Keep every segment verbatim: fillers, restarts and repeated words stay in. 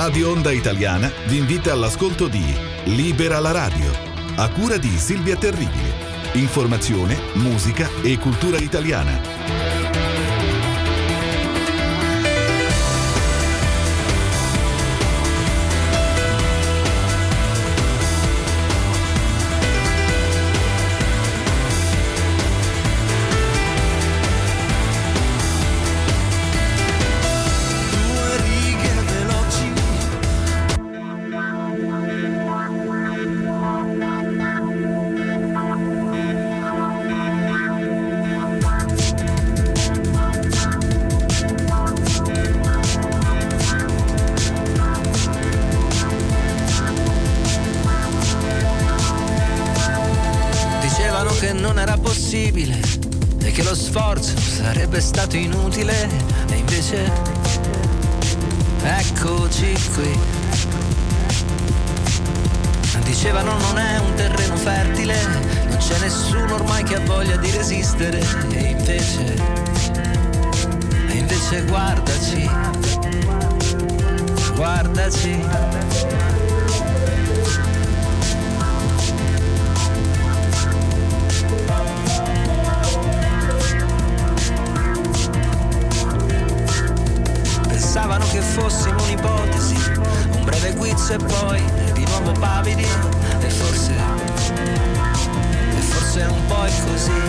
Radio Onda Italiana vi invita all'ascolto di Libera la radio, a cura di Silvia Terribili. Informazione, musica e cultura italiana. E che lo sforzo sarebbe stato inutile, e invece eccoci qui. Dicevano non è un terreno fertile, non c'è nessuno ormai che ha voglia di resistere, e invece e invece guardaci, guardaci. Pensavano che fossimo un'ipotesi, un breve guizzo e poi di nuovo pavidi, e forse, e forse è un po' così.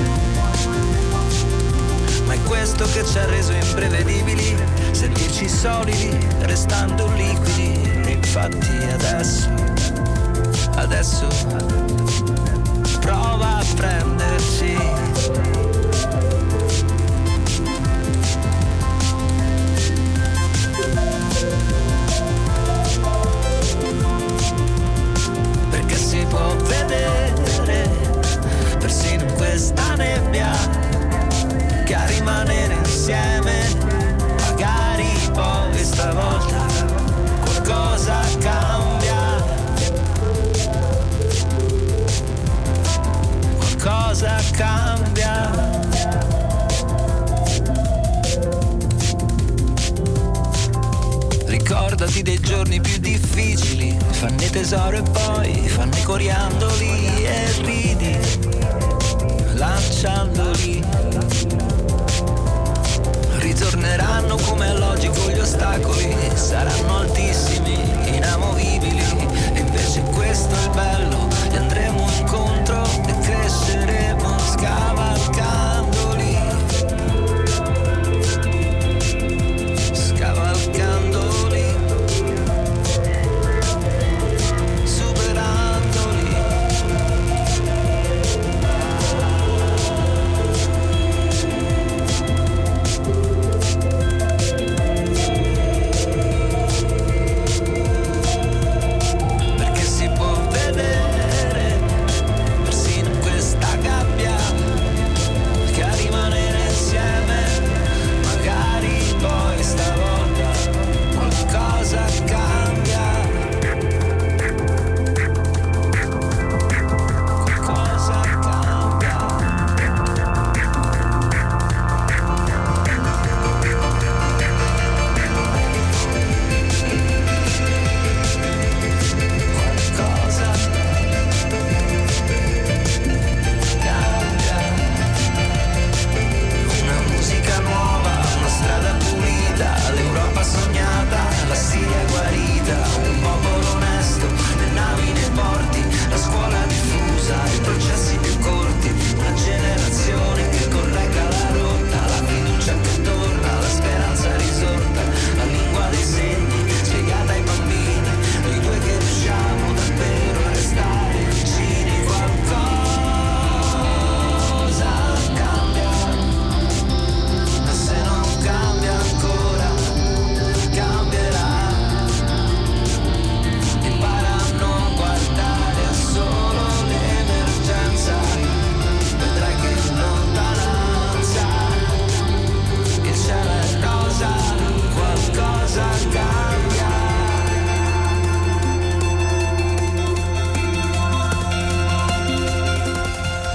Ma è questo che ci ha reso imprevedibili, sentirci solidi, restando liquidi. E infatti adesso, adesso prova a prenderci. Si può vedere persino in questa nebbia che a rimanere insieme magari poi stavolta qualcosa cambia, qualcosa cambia. Ricordati dei giorni più difficili, fanne tesoro e poi fanne coriandoli e ridi, lanciandoli. Ritorneranno come è logico gli ostacoli, saranno altissimi, inamovibili, e invece questo è il bello, gli andremo incontro e cresceremo scavalcandoli, scavalcandoli.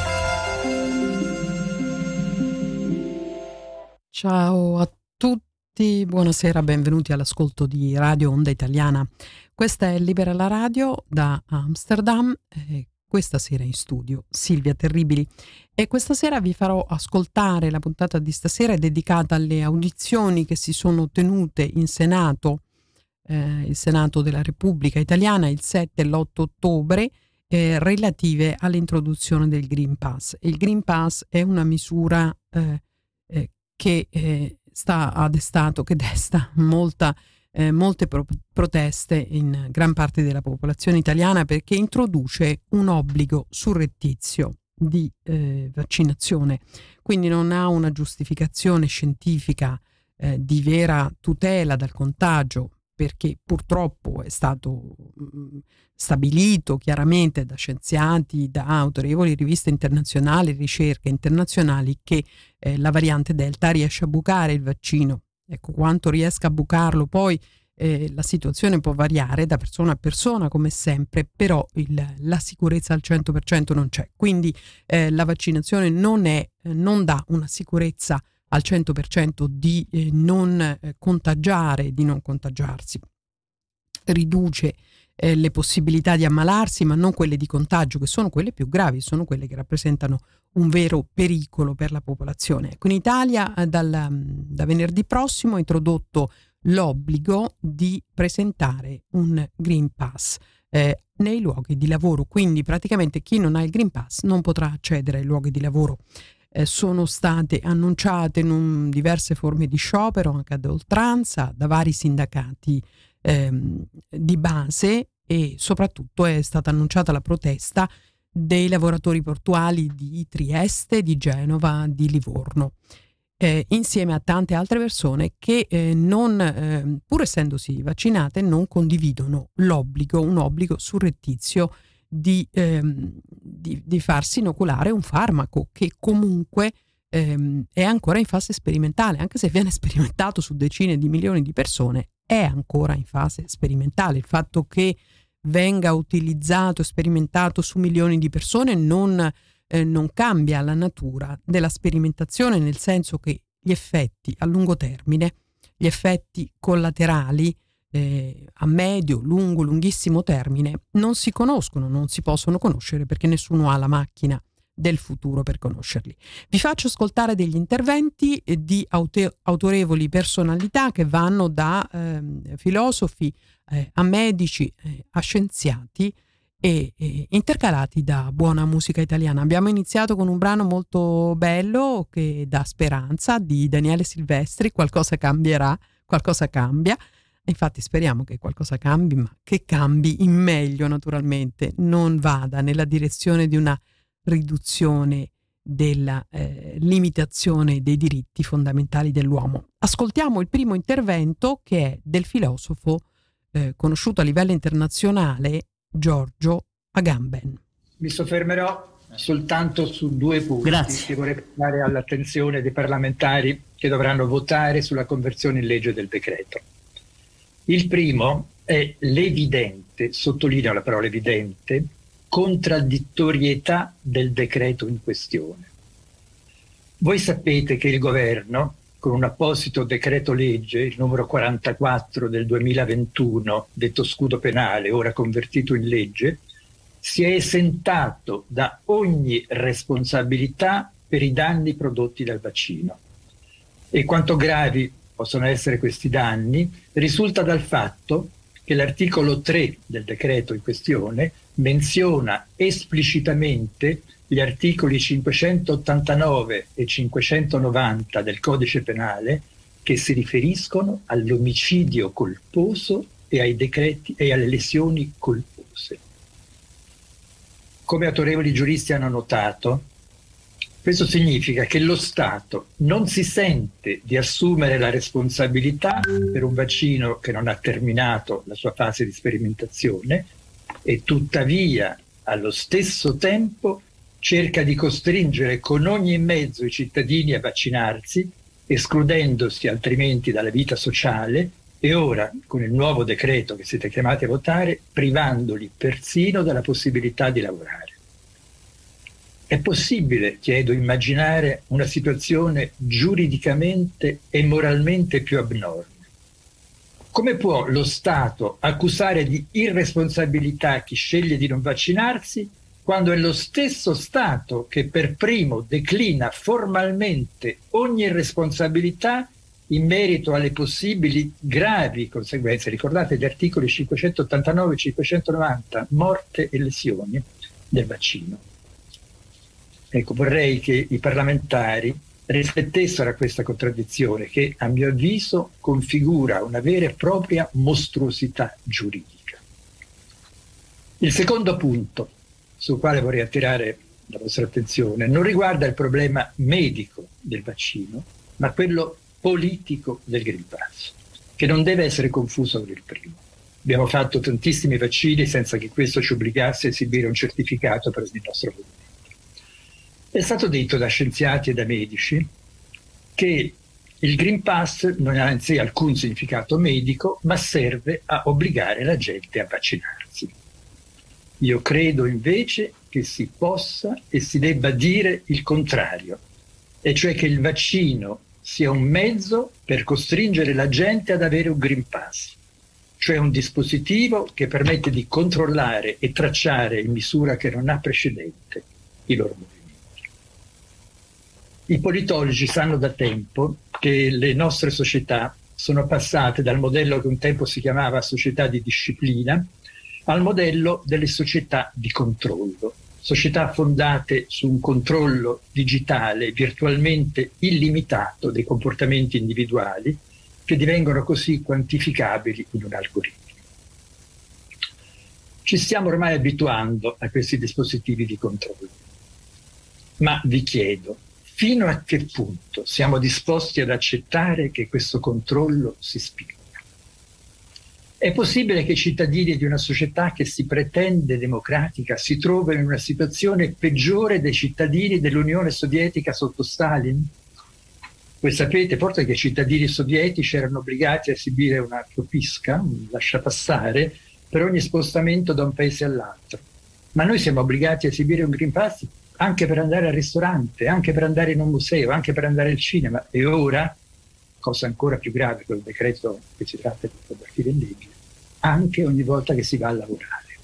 Ciao a tutti tutti, buonasera, benvenuti all'ascolto di Radio Onda Italiana. Questa è Libera la Radio da Amsterdam, e questa sera in studio Silvia Terribili, e questa sera vi farò ascoltare la puntata di stasera è dedicata alle audizioni che si sono tenute in Senato, eh, il Senato della Repubblica Italiana il sette e l'otto ottobre, eh, relative all'introduzione del Green Pass. Il Green Pass è una misura eh, eh, che eh, sta a destato, che desta molta, eh, molte pro- proteste in gran parte della popolazione italiana, perché introduce un obbligo surrettizio di eh, vaccinazione, quindi non ha una giustificazione scientifica eh, di vera tutela dal contagio, perché purtroppo è stato mh, stabilito chiaramente da scienziati, da autorevoli riviste internazionali, ricerche internazionali, che eh, la variante Delta riesce a bucare il vaccino. Ecco, quanto riesca a bucarlo poi eh, la situazione può variare da persona a persona, come sempre, però il, la sicurezza al cento per cento non c'è. Quindi eh, la vaccinazione non, è, eh, non dà una sicurezza al cento per cento di eh, non eh, contagiare, di non contagiarsi. Riduce eh, le possibilità di ammalarsi, ma non quelle di contagio, che sono quelle più gravi, sono quelle che rappresentano un vero pericolo per la popolazione. Ecco, in Italia eh, dal, da venerdì prossimo è introdotto l'obbligo di presentare un Green Pass eh, nei luoghi di lavoro, quindi praticamente chi non ha il Green Pass non potrà accedere ai luoghi di lavoro. Eh, sono state annunciate in diverse forme di sciopero anche ad oltranza da vari sindacati ehm, di base, e soprattutto è stata annunciata la protesta dei lavoratori portuali di Trieste, di Genova, di Livorno, eh, insieme a tante altre persone che eh, non, eh, pur essendosi vaccinate, non condividono l'obbligo, un obbligo surrettizio Di, ehm, di, di farsi inoculare un farmaco che comunque ehm, è ancora in fase sperimentale, anche se viene sperimentato su decine di milioni di persone, è ancora in fase sperimentale. Il fatto che venga utilizzato e sperimentato su milioni di persone non, eh, non cambia la natura della sperimentazione, nel senso che gli effetti a lungo termine, gli effetti collaterali Eh, a medio, lungo, lunghissimo termine non si conoscono, non si possono conoscere, perché nessuno ha la macchina del futuro per conoscerli. Vi faccio ascoltare degli interventi eh, di aute- autorevoli personalità che vanno da eh, filosofi eh, a medici, eh, a scienziati, e eh, intercalati da buona musica italiana. Abbiamo iniziato con un brano molto bello che dà speranza, di Daniele Silvestri, Qualcosa cambierà, qualcosa cambia. Infatti speriamo che qualcosa cambi, ma che cambi in meglio, naturalmente, non vada nella direzione di una riduzione della eh, limitazione dei diritti fondamentali dell'uomo. Ascoltiamo il primo intervento, che è del filosofo eh, conosciuto a livello internazionale, Giorgio Agamben. Mi soffermerò soltanto su due punti Grazie. che vorrei portare all'attenzione dei parlamentari che dovranno votare sulla conversione in legge del decreto. Il primo è l'evidente, sottolineo la parola evidente, contraddittorietà del decreto in questione. Voi sapete che il governo, con un apposito decreto legge, il numero quarantaquattro del duemilaventuno, detto scudo penale, ora convertito in legge, si è esentato da ogni responsabilità per i danni prodotti dal vaccino. E quanto gravi possono essere questi danni risulta dal fatto che l'articolo tre del decreto in questione menziona esplicitamente gli articoli cinquecentottantanove e cinquecentonovanta del Codice Penale, che si riferiscono all'omicidio colposo e ai decreti e alle lesioni colpose. Come autorevoli giuristi hanno notato, questo significa che lo Stato non si sente di assumere la responsabilità per un vaccino che non ha terminato la sua fase di sperimentazione e tuttavia allo stesso tempo cerca di costringere con ogni mezzo i cittadini a vaccinarsi, escludendosi altrimenti dalla vita sociale, e ora, con il nuovo decreto che siete chiamati a votare, privandoli persino della possibilità di lavorare. È possibile, chiedo, immaginare una situazione giuridicamente e moralmente più abnorme? Come può lo Stato accusare di irresponsabilità chi sceglie di non vaccinarsi quando è lo stesso Stato che per primo declina formalmente ogni responsabilità in merito alle possibili gravi conseguenze? Ricordate gli articoli cinquecentottantanove e cinquecentonovanta, morte e lesioni del vaccino. Ecco, vorrei che i parlamentari riflettessero a questa contraddizione che, a mio avviso, configura una vera e propria mostruosità giuridica. Il secondo punto sul quale vorrei attirare la vostra attenzione non riguarda il problema medico del vaccino, ma quello politico del Green Pass, che non deve essere confuso con il primo. Abbiamo fatto tantissimi vaccini senza che questo ci obbligasse a esibire un certificato per il nostro movimento. È stato detto da scienziati e da medici che il Green Pass non ha in sé alcun significato medico, ma serve a obbligare la gente a vaccinarsi. Io credo invece che si possa e si debba dire il contrario, e cioè che il vaccino sia un mezzo per costringere la gente ad avere un Green Pass, cioè un dispositivo che permette di controllare e tracciare in misura che non ha precedente i loro movimenti. I politologi sanno da tempo che le nostre società sono passate dal modello che un tempo si chiamava società di disciplina al modello delle società di controllo, società fondate su un controllo digitale virtualmente illimitato dei comportamenti individuali che divengono così quantificabili in un algoritmo. Ci stiamo ormai abituando a questi dispositivi di controllo, ma vi chiedo, fino a che punto siamo disposti ad accettare che questo controllo si spinga? È possibile che i cittadini di una società che si pretende democratica si trovino in una situazione peggiore dei cittadini dell'Unione Sovietica sotto Stalin? Voi sapete forse che i cittadini sovietici erano obbligati a esibire una propiska, un lasciapassare, per ogni spostamento da un paese all'altro. Ma noi siamo obbligati a esibire un Green Pass anche per andare al ristorante, anche per andare in un museo, anche per andare al cinema. E ora, cosa ancora più grave col decreto che si tratta di convertire in legge, anche ogni volta che si va a lavorare.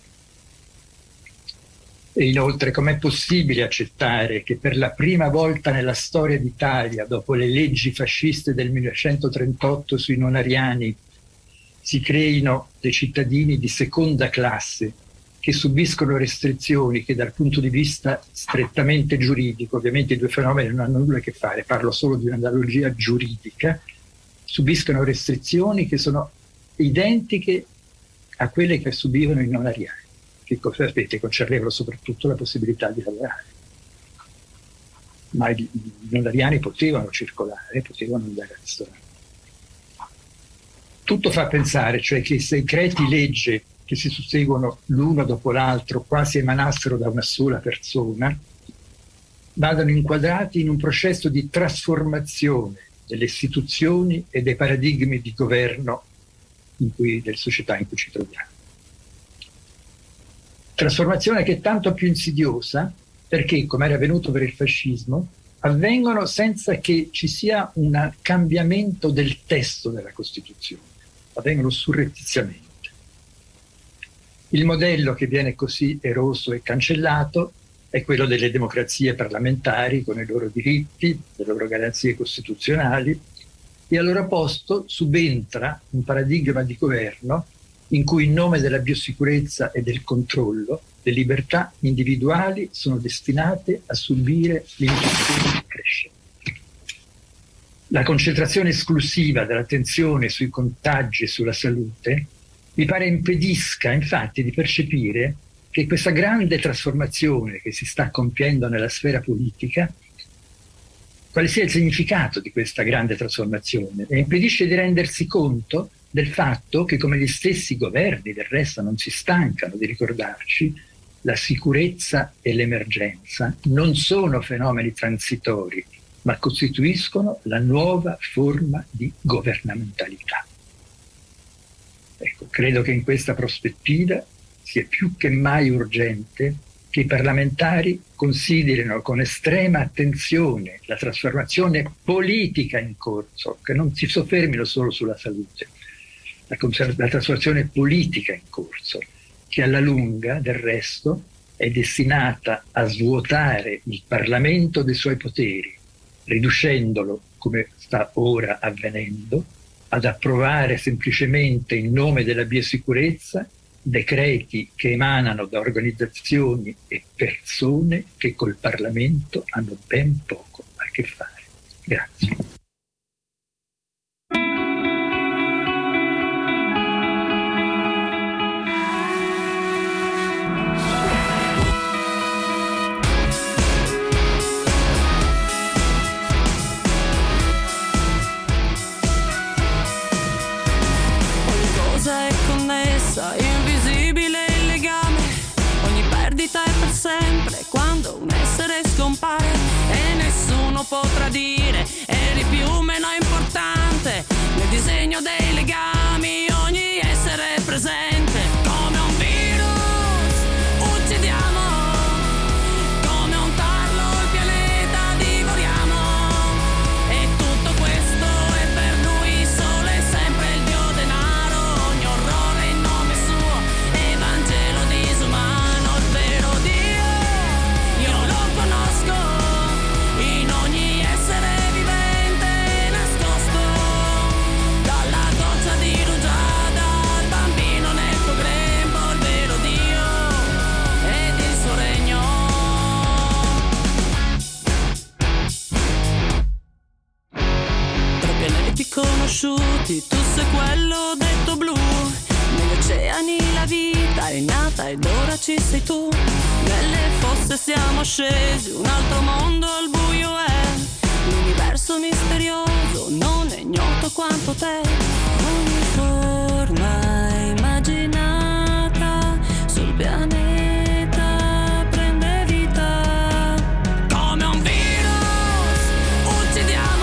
E inoltre, com'è possibile accettare che per la prima volta nella storia d'Italia, dopo le leggi fasciste del millenovecentotrentotto sui non ariani, si creino dei cittadini di seconda classe che subiscono restrizioni che dal punto di vista strettamente giuridico, ovviamente i due fenomeni non hanno nulla a che fare, parlo solo di un'analogia giuridica, subiscono restrizioni che sono identiche a quelle che subivano i non ariani, che sapete concernevano soprattutto la possibilità di lavorare. Ma i non ariani potevano circolare, potevano andare al ristorante. Tutto fa pensare, cioè, che se i decreti legge che si susseguono l'uno dopo l'altro, quasi emanassero da una sola persona, vadano inquadrati in un processo di trasformazione delle istituzioni e dei paradigmi di governo in cui, delle società in cui ci troviamo. Trasformazione che è tanto più insidiosa perché, come era avvenuto per il fascismo, avvengono senza che ci sia un cambiamento del testo della Costituzione, avvengono surrettiziamente. Il modello che viene così eroso e cancellato è quello delle democrazie parlamentari con i loro diritti, le loro garanzie costituzionali, e al loro posto subentra un paradigma di governo in cui in nome della biosicurezza e del controllo le libertà individuali sono destinate a subire limitazioni crescenti. La concentrazione esclusiva dell'attenzione sui contagi e sulla salute mi pare impedisca infatti di percepire che questa grande trasformazione che si sta compiendo nella sfera politica, quale sia il significato di questa grande trasformazione, e impedisce di rendersi conto del fatto che, come gli stessi governi del resto non si stancano di ricordarci, la sicurezza e l'emergenza non sono fenomeni transitori, ma costituiscono la nuova forma di governamentalità. Ecco, credo che in questa prospettiva sia più che mai urgente che i parlamentari considerino con estrema attenzione la trasformazione politica in corso, che non si soffermino solo sulla salute, la, la trasformazione politica in corso, che alla lunga, del resto, è destinata a svuotare il Parlamento dei suoi poteri, riducendolo, come sta ora avvenendo, ad approvare semplicemente in nome della biosicurezza decreti che emanano da organizzazioni e persone che col Parlamento hanno ben poco a che fare. Grazie. Sempre quando un essere scompare e nessuno potrà dire eri più o meno importante nel disegno dei legami, ogni essere presente come un virus uccidiamo, come un tarlo il pianeta divoriamo, e tutto questo è per lui solo e sempre il dio denaro, ogni orrore in nome suo, evangelo disumano. Conosciuti, tu sei quello detto blu, negli oceani la vita è nata ed ora ci sei tu, nelle fosse siamo scesi, un altro mondo al buio è, l'universo misterioso non è ignoto quanto te, ogni forma immaginata sul pianeta prende vita, come un virus uccidiamo.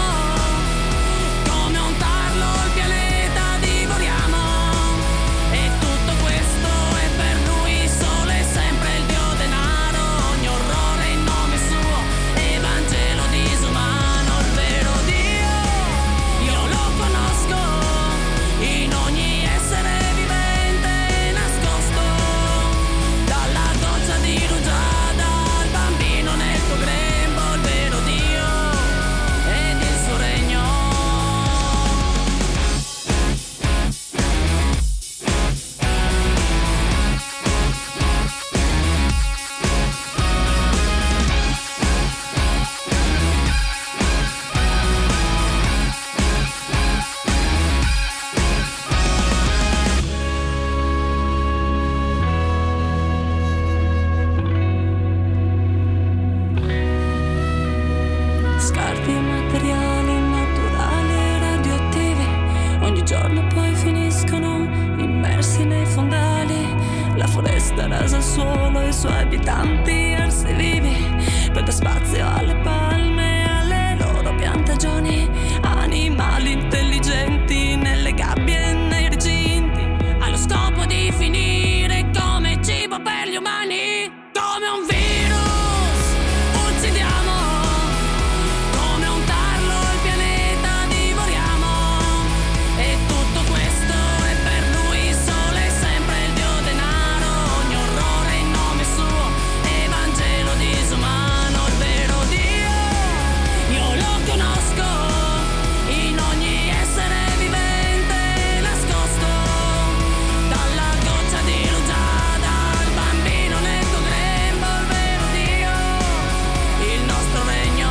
Rasa al suolo e i suoi abitanti arsi vivi, per dare spazio alle palme e alle loro piantagioni, animali intelligenti nelle gabbie e nei recinti, allo scopo di finire come cibo per gli umani, come un virus uccidiamo, come un tarlo il pianeta divoriamo, e tutto questo è per lui solo e sempre il dio denaro, ogni orrore in nome suo, evangelo disumano, il vero Dio io lo conosco in ogni essere vivente nascosto, dalla goccia di rugiada al bambino nel tuo grembo, il vero Dio, il nostro regno.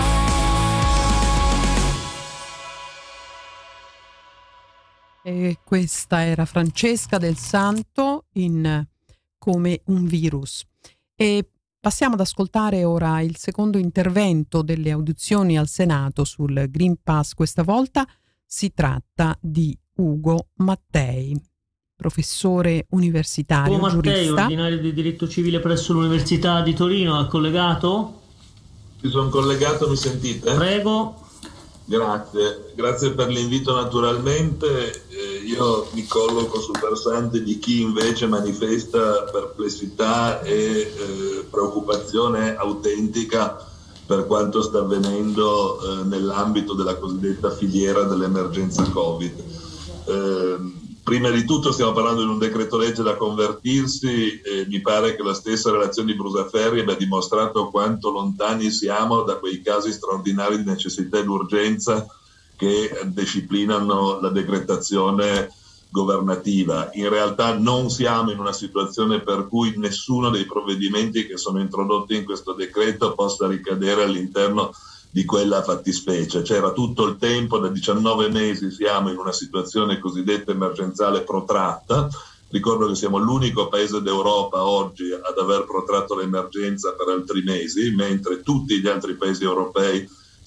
E questa era Francesca Del Santo in Come un virus. E passiamo ad ascoltare ora il secondo intervento delle audizioni al Senato sul Green Pass. Questa volta si tratta di Ugo Mattei, professore universitario, Ugo Mattei, giurista. ordinario di diritto civile presso l'Università di Torino, è collegato? Ci sono collegato, mi sentite? Prego. Grazie, grazie per l'invito naturalmente. Eh, io mi colloco sul versante di chi invece manifesta perplessità e eh, preoccupazione autentica per quanto sta avvenendo eh, nell'ambito della cosiddetta filiera dell'emergenza Covid. Eh, prima di tutto stiamo parlando di un decreto legge da convertirsi e mi pare che la stessa relazione di Brusaferri abbia dimostrato quanto lontani siamo da quei casi straordinari di necessità ed urgenza che disciplinano la decretazione governativa. In realtà non siamo in una situazione per cui nessuno dei provvedimenti che sono introdotti in questo decreto possa ricadere all'interno di quella fattispecie. C'era tutto il tempo, da diciannove mesi siamo in una situazione cosiddetta emergenziale protratta. Ricordo che siamo l'unico paese d'Europa oggi ad aver protratto l'emergenza per altri mesi, mentre tutti gli altri paesi europei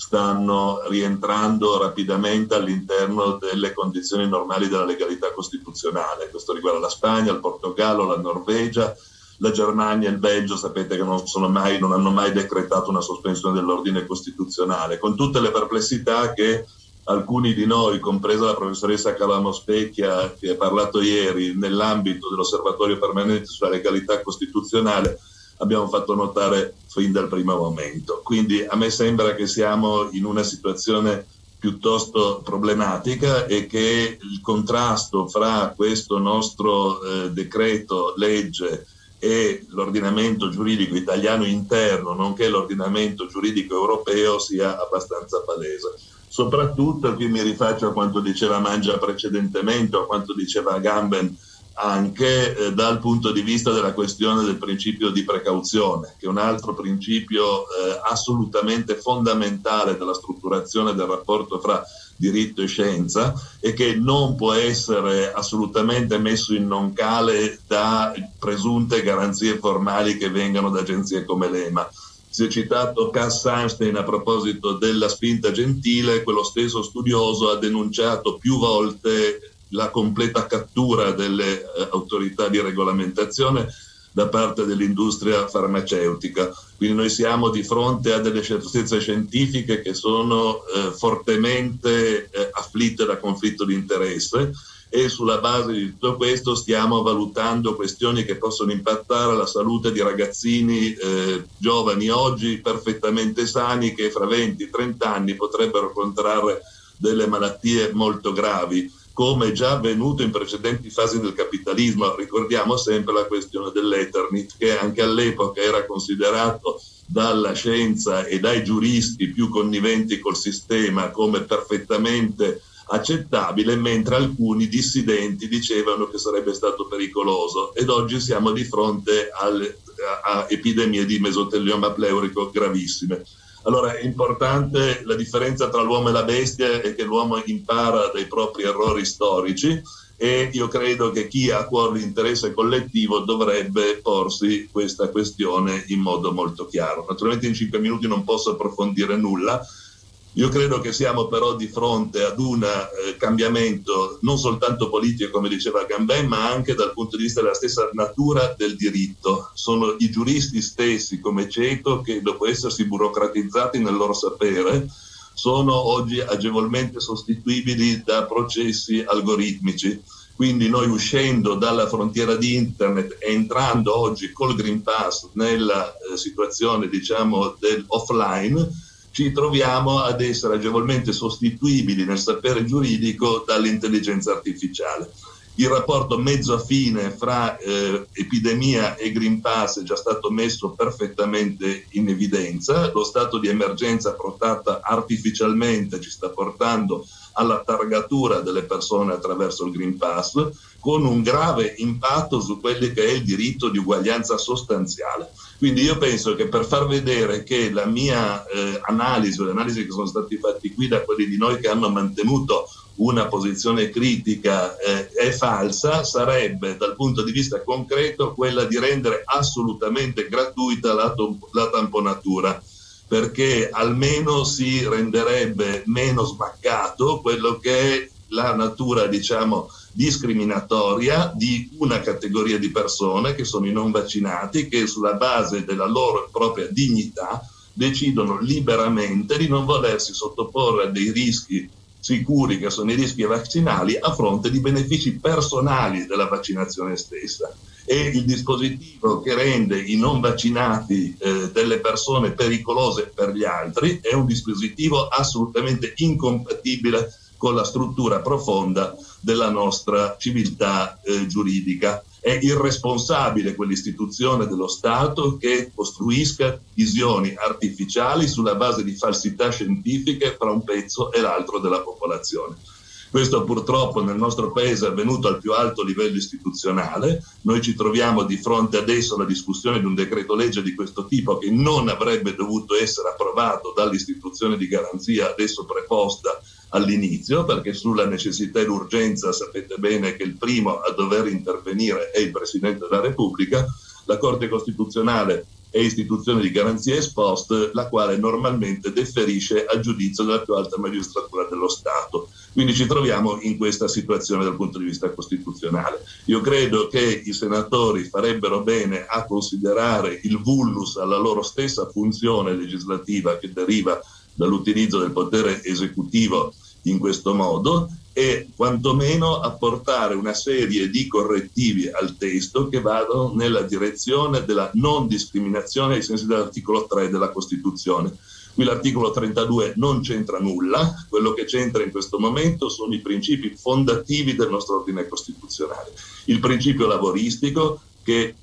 stanno rientrando rapidamente all'interno delle condizioni normali della legalità costituzionale. Questo riguarda la Spagna, il Portogallo, la Norvegia, la Germania e il Belgio. Sapete che non, sono mai, non hanno mai decretato una sospensione dell'ordine costituzionale, con tutte le perplessità che alcuni di noi, compresa la professoressa Calamo Specchia che ha parlato ieri, nell'ambito dell'osservatorio permanente sulla legalità costituzionale, abbiamo fatto notare fin dal primo momento. Quindi a me sembra che siamo in una situazione piuttosto problematica e che il contrasto fra questo nostro eh, decreto legge e l'ordinamento giuridico italiano interno, nonché l'ordinamento giuridico europeo, sia abbastanza palese. Soprattutto, qui mi rifaccio a quanto diceva Mangia precedentemente, a quanto diceva Gamben, anche eh, dal punto di vista della questione del principio di precauzione, che è un altro principio eh, assolutamente fondamentale della strutturazione del rapporto fra diritto e scienza e che non può essere assolutamente messo in non cale da presunte garanzie formali che vengano da agenzie come l'E M A. Si è citato Cass Sunstein a proposito della spinta gentile. Quello stesso studioso ha denunciato più volte la completa cattura delle eh, autorità di regolamentazione da parte dell'industria farmaceutica. Quindi noi siamo di fronte a delle certezze scientifiche che sono eh, fortemente eh, afflitte da conflitto di interesse, e sulla base di tutto questo stiamo valutando questioni che possono impattare la salute di ragazzini eh, giovani oggi perfettamente sani, che fra venti trenta anni potrebbero contrarre delle malattie molto gravi, come già avvenuto in precedenti fasi del capitalismo. Ricordiamo sempre la questione dell'Eternit, che anche all'epoca era considerato dalla scienza e dai giuristi più conniventi col sistema come perfettamente accettabile, mentre alcuni dissidenti dicevano che sarebbe stato pericoloso, ed oggi siamo di fronte alle, a, a epidemie di mesotelioma pleurico gravissime. Allora è importante la differenza tra l'uomo e la bestia, è che l'uomo impara dai propri errori storici, e io credo che chi ha a cuore l'interesse collettivo dovrebbe porsi questa questione in modo molto chiaro. Naturalmente in cinque minuti non posso approfondire nulla. Io credo che siamo però di fronte ad un eh, cambiamento non soltanto politico, come diceva Gamben, ma anche dal punto di vista della stessa natura del diritto. Sono i giuristi stessi, come Ceto, che dopo essersi burocratizzati nel loro sapere, sono oggi agevolmente sostituibili da processi algoritmici. Quindi noi, uscendo dalla frontiera di internet e entrando oggi col Green Pass nella eh, situazione, diciamo, del offline, ci troviamo ad essere agevolmente sostituibili nel sapere giuridico dall'intelligenza artificiale. Il rapporto mezzo affine fra eh, epidemia e Green Pass è già stato messo perfettamente in evidenza. Lo stato di emergenza protratta artificialmente ci sta portando alla targatura delle persone attraverso il Green Pass, con un grave impatto su quello che è il diritto di uguaglianza sostanziale. Quindi io penso che, per far vedere che la mia eh, analisi, le analisi che sono stati fatti qui da quelli di noi che hanno mantenuto una posizione critica eh, è falsa, sarebbe dal punto di vista concreto quella di rendere assolutamente gratuita la, la tamponatura, perché almeno si renderebbe meno smaccato quello che è la natura, diciamo, discriminatoria di una categoria di persone che sono i non vaccinati, che sulla base della loro propria dignità decidono liberamente di non volersi sottoporre a dei rischi sicuri, che sono i rischi vaccinali, a fronte di benefici personali della vaccinazione stessa. E il dispositivo che rende i non vaccinati eh, delle persone pericolose per gli altri è un dispositivo assolutamente incompatibile con la struttura profonda della nostra civiltà eh, giuridica. È irresponsabile quell'istituzione dello Stato che costruisca visioni artificiali sulla base di falsità scientifiche fra un pezzo e l'altro della popolazione. Questo purtroppo nel nostro paese è avvenuto al più alto livello istituzionale. Noi ci troviamo di fronte adesso alla discussione di un decreto legge di questo tipo che non avrebbe dovuto essere approvato dall'istituzione di garanzia adesso preposta all'inizio, perché sulla necessità e l'urgenza sapete bene che il primo a dover intervenire è il Presidente della Repubblica. La Corte Costituzionale è istituzione di garanzia ex post, la quale normalmente deferisce al giudizio della più alta magistratura dello Stato. Quindi ci troviamo in questa situazione dal punto di vista costituzionale. Io credo che i senatori farebbero bene a considerare il vulnus alla loro stessa funzione legislativa che deriva dall'utilizzo del potere esecutivo in questo modo e quantomeno apportare una serie di correttivi al testo che vadano nella direzione della non discriminazione ai sensi dell'articolo tre della Costituzione. Qui l'articolo trentadue non c'entra nulla, quello che c'entra in questo momento sono i principi fondativi del nostro ordine costituzionale. Il principio lavoristico che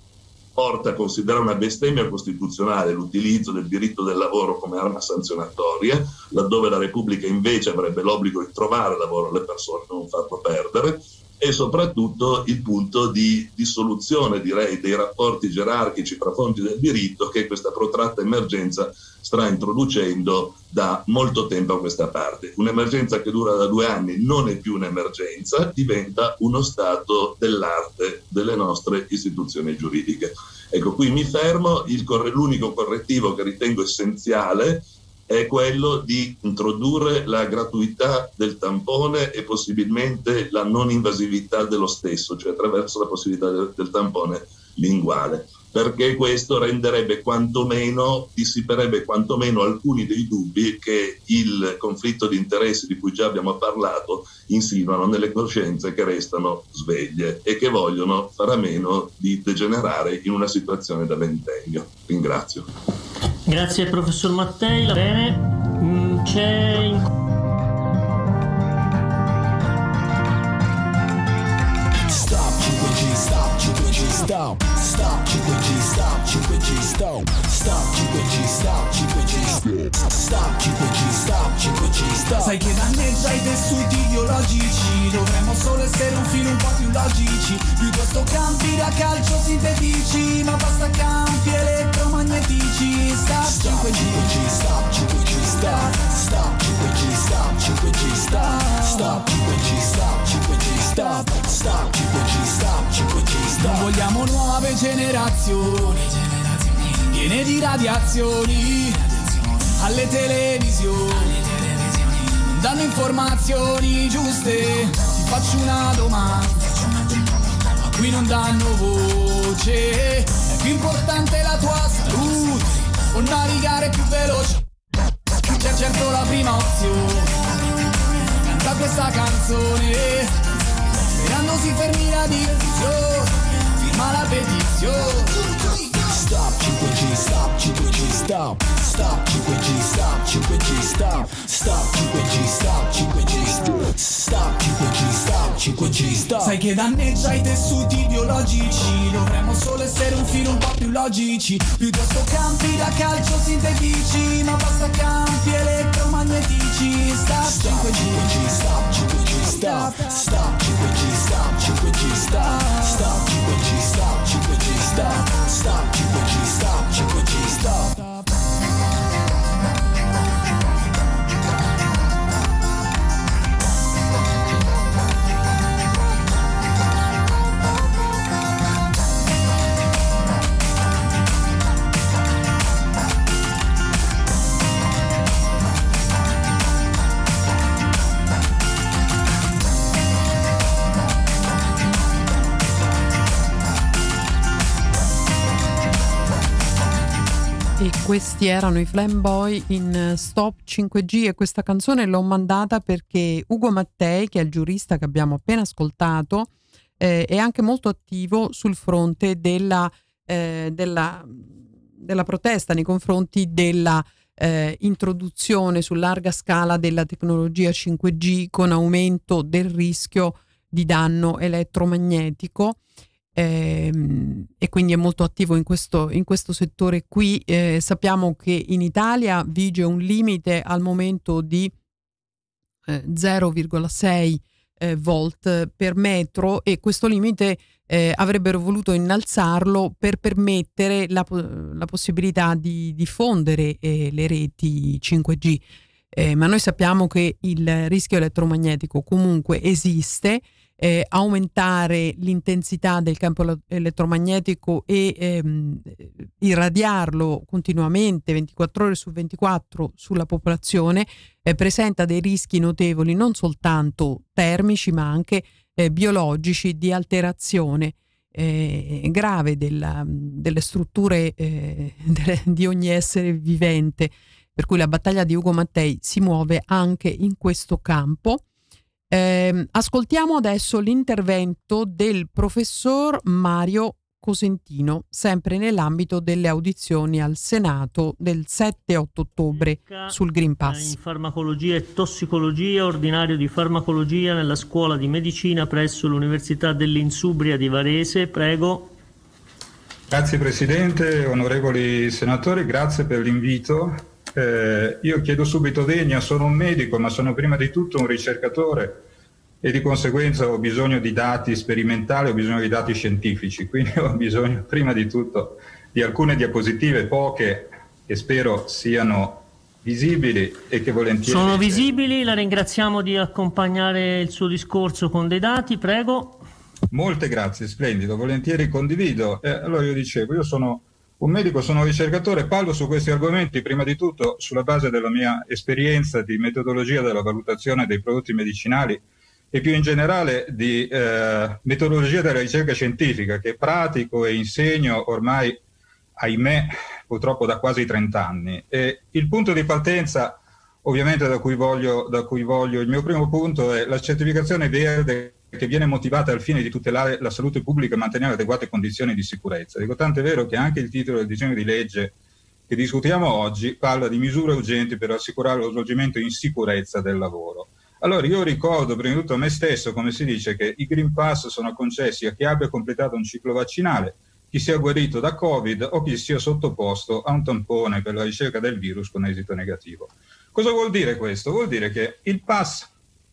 porta a considerare una bestemmia costituzionale l'utilizzo del diritto del lavoro come arma sanzionatoria, laddove la Repubblica invece avrebbe l'obbligo di trovare lavoro alle persone, non farlo perdere, e soprattutto il punto di dissoluzione, direi, dei rapporti gerarchici fra fonti del diritto che questa protratta emergenza sta introducendo da molto tempo a questa parte. Un'emergenza che dura da due anni non è più un'emergenza, diventa uno stato dell'arte delle nostre istituzioni giuridiche. Ecco, qui mi fermo. Il corre- l'unico correttivo che ritengo essenziale è quello di introdurre la gratuità del tampone e possibilmente la non invasività dello stesso, cioè attraverso la possibilità del, del tampone linguale, perché questo renderebbe quantomeno, dissiperebbe quantomeno alcuni dei dubbi che il conflitto di interessi di cui già abbiamo parlato insinuano nelle coscienze che restano sveglie e che vogliono fare a meno di degenerare in una situazione da ventennio. Ringrazio. Grazie professor Mattei. Bene, mm, c'è in... Stop cinque G, stop cinque G, stop. Stop cinque G, stop cinque G, stop. Stop cinque G, stop cinque G, stop cinque G, stop cinque G, stop. Sai che danneggia i tessuti ideologici, dovremmo solo essere un filo un po' più logici, piuttosto campi da calcio sintetici, ma basta campi elettromagnetici. Stop cinque G, stop cinque G, stop. Stop cinque G, stop cinque G, stop. Stop cinque G, stop cinque G, stop. Stop cinque G, stop cinque G, stop. Non vogliamo nuove generazioni piene di radiazioni alle televisioni, non danno informazioni giuste. Ti faccio una domanda, ma qui non danno voce. È più importante la tua salute o navigare più veloce? C'è certo la prima opzione, canta questa canzone sperando si fermi la diffusione, firma la petizione. Stop cinque G, stop cinque G, stop. Stop cinque G, stop cinque G, stop. Stop cinque G, stop cinque G, stop. Stop cinque G, stop cinque G, stop. Sai che danneggia i tessuti ideologici, dovremmo solo essere un filo un po' più logici, piuttosto campi da calcio sintetici, ma basta campi elettromagnetici. Stop cinque G, stop cinque G, stop. Stop cinque G, stop cinque G, stop. Stop cinque G, stop cinque G, stop. Stop cinque G, stop cinque G, stop. Questi erano i Flamboy in Stop cinque G e questa canzone l'ho mandata perché Ugo Mattei, che è il giurista che abbiamo appena ascoltato, eh, è anche molto attivo sul fronte della, eh, della, della protesta nei confronti della eh, introduzione su larga scala della tecnologia cinque G con aumento del rischio di danno elettromagnetico. Eh, e quindi è molto attivo in questo, in questo settore qui. Eh, sappiamo che in Italia vige un limite al momento di eh, zero virgola sei eh, volt per metro e questo limite eh, avrebbero voluto innalzarlo per permettere la, la possibilità di diffondere eh, le reti cinque G. Eh, ma noi sappiamo che il rischio elettromagnetico comunque esiste. Eh, aumentare l'intensità del campo elettromagnetico e ehm, irradiarlo continuamente ventiquattro ore su ventiquattro sulla popolazione eh, presenta dei rischi notevoli non soltanto termici ma anche eh, biologici di alterazione eh, grave della, delle strutture eh, delle, di ogni essere vivente, per cui la battaglia di Ugo Mattei si muove anche in questo campo. Eh, ascoltiamo adesso l'intervento del professor Mario Cosentino, sempre nell'ambito delle audizioni al Senato del sette otto ottobre sul Green Pass. In farmacologia e tossicologia, ordinario di farmacologia nella scuola di medicina presso l'Università dell'Insubria di Varese. Prego. Grazie Presidente, onorevoli senatori, grazie per l'invito. Eh, io chiedo subito venia, sono un medico ma sono prima di tutto un ricercatore e di conseguenza ho bisogno di dati sperimentali, ho bisogno di dati scientifici, quindi ho bisogno prima di tutto di alcune diapositive, poche, che spero siano visibili e che volentieri... Sono visibili, la ringraziamo di accompagnare il suo discorso con dei dati, prego. Molte grazie, splendido, volentieri condivido. Eh, allora io dicevo, io sono un medico, sono un ricercatore, parlo su questi argomenti prima di tutto sulla base della mia esperienza di metodologia della valutazione dei prodotti medicinali e più in generale di eh, metodologia della ricerca scientifica che pratico e insegno ormai, ahimè, purtroppo da quasi trenta anni. E il punto di partenza, ovviamente da cui voglio, da cui voglio, il mio primo punto è la certificazione verde che viene motivata al fine di tutelare la salute pubblica e mantenere adeguate condizioni di sicurezza. Dico, tanto è vero che anche il titolo del disegno di legge che discutiamo oggi parla di misure urgenti per assicurare lo svolgimento in sicurezza del lavoro. Allora io ricordo prima di tutto a me stesso, come si dice, che i Green Pass sono concessi a chi abbia completato un ciclo vaccinale, chi sia guarito da Covid o chi sia sottoposto a un tampone per la ricerca del virus con esito negativo. Cosa vuol dire questo? Vuol dire che il pass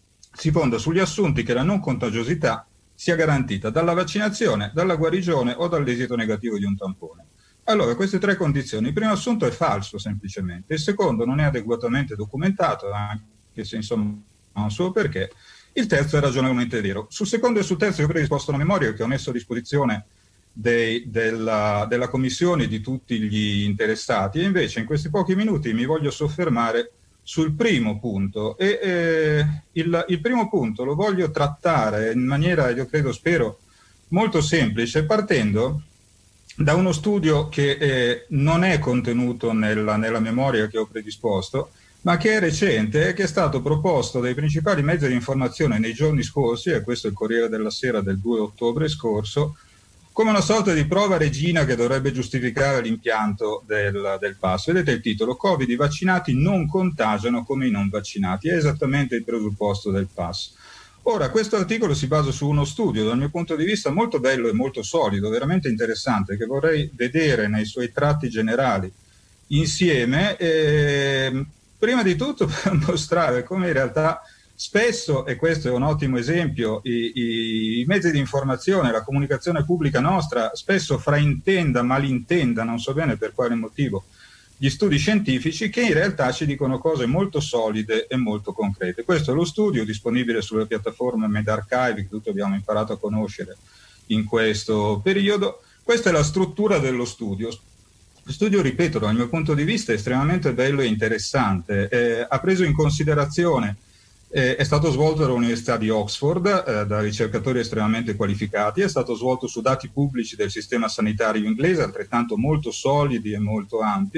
si fonda sugli assunti che la non contagiosità sia garantita dalla vaccinazione, dalla guarigione o dall'esito negativo di un tampone. Allora, queste tre condizioni, il primo assunto è falso semplicemente, il secondo non è adeguatamente documentato, anche se insomma ha un suo perché, il terzo è ragionevolmente vero. Sul secondo e sul terzo io ho predisposto una memoria che ho messo a disposizione dei, della, della commissione e di tutti gli interessati e invece in questi pochi minuti mi voglio soffermare sul primo punto e eh, il, il primo punto lo voglio trattare in maniera, io credo, spero, molto semplice, partendo da uno studio che eh, non è contenuto nella, nella memoria che ho predisposto, ma che è recente e che è stato proposto dai principali mezzi di informazione nei giorni scorsi, e questo è il Corriere della Sera del due ottobre scorso, come una sorta di prova regina che dovrebbe giustificare l'impianto del, del pass. Vedete il titolo, Covid, i vaccinati non contagiano come i non vaccinati, è esattamente il presupposto del pass. Ora, questo articolo si basa su uno studio, dal mio punto di vista molto bello e molto solido, veramente interessante, che vorrei vedere nei suoi tratti generali insieme, e, prima di tutto per mostrare come in realtà spesso, e questo è un ottimo esempio, i, i, i mezzi di informazione, la comunicazione pubblica nostra spesso fraintenda, malintenda, non so bene per quale motivo, gli studi scientifici che in realtà ci dicono cose molto solide e molto concrete. Questo è lo studio disponibile sulla piattaforma medArchive che tutti abbiamo imparato a conoscere in questo periodo. Questa è la struttura dello studio. Lo studio, ripeto, dal mio punto di vista è estremamente bello e interessante. Eh, ha preso in considerazione Eh, è stato svolto dall'Università di Oxford eh, da ricercatori estremamente qualificati, è stato svolto su dati pubblici del sistema sanitario inglese, altrettanto molto solidi e molto ampi,